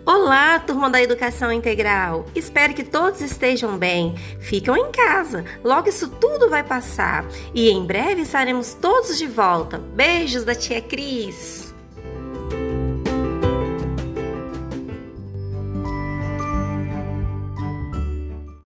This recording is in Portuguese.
Olá, turma da Educação Integral! Espero que todos estejam bem. Ficam em casa, logo isso tudo vai passar. E em breve estaremos todos de volta. Beijos da tia Cris!